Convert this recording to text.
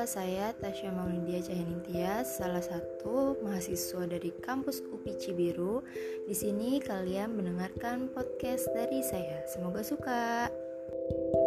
saya Tasya Maulidya Cahyaningtyas, salah satu mahasiswa dari kampus UPI Cibiru. Di sini kalian mendengarkan podcast dari saya. Semoga suka.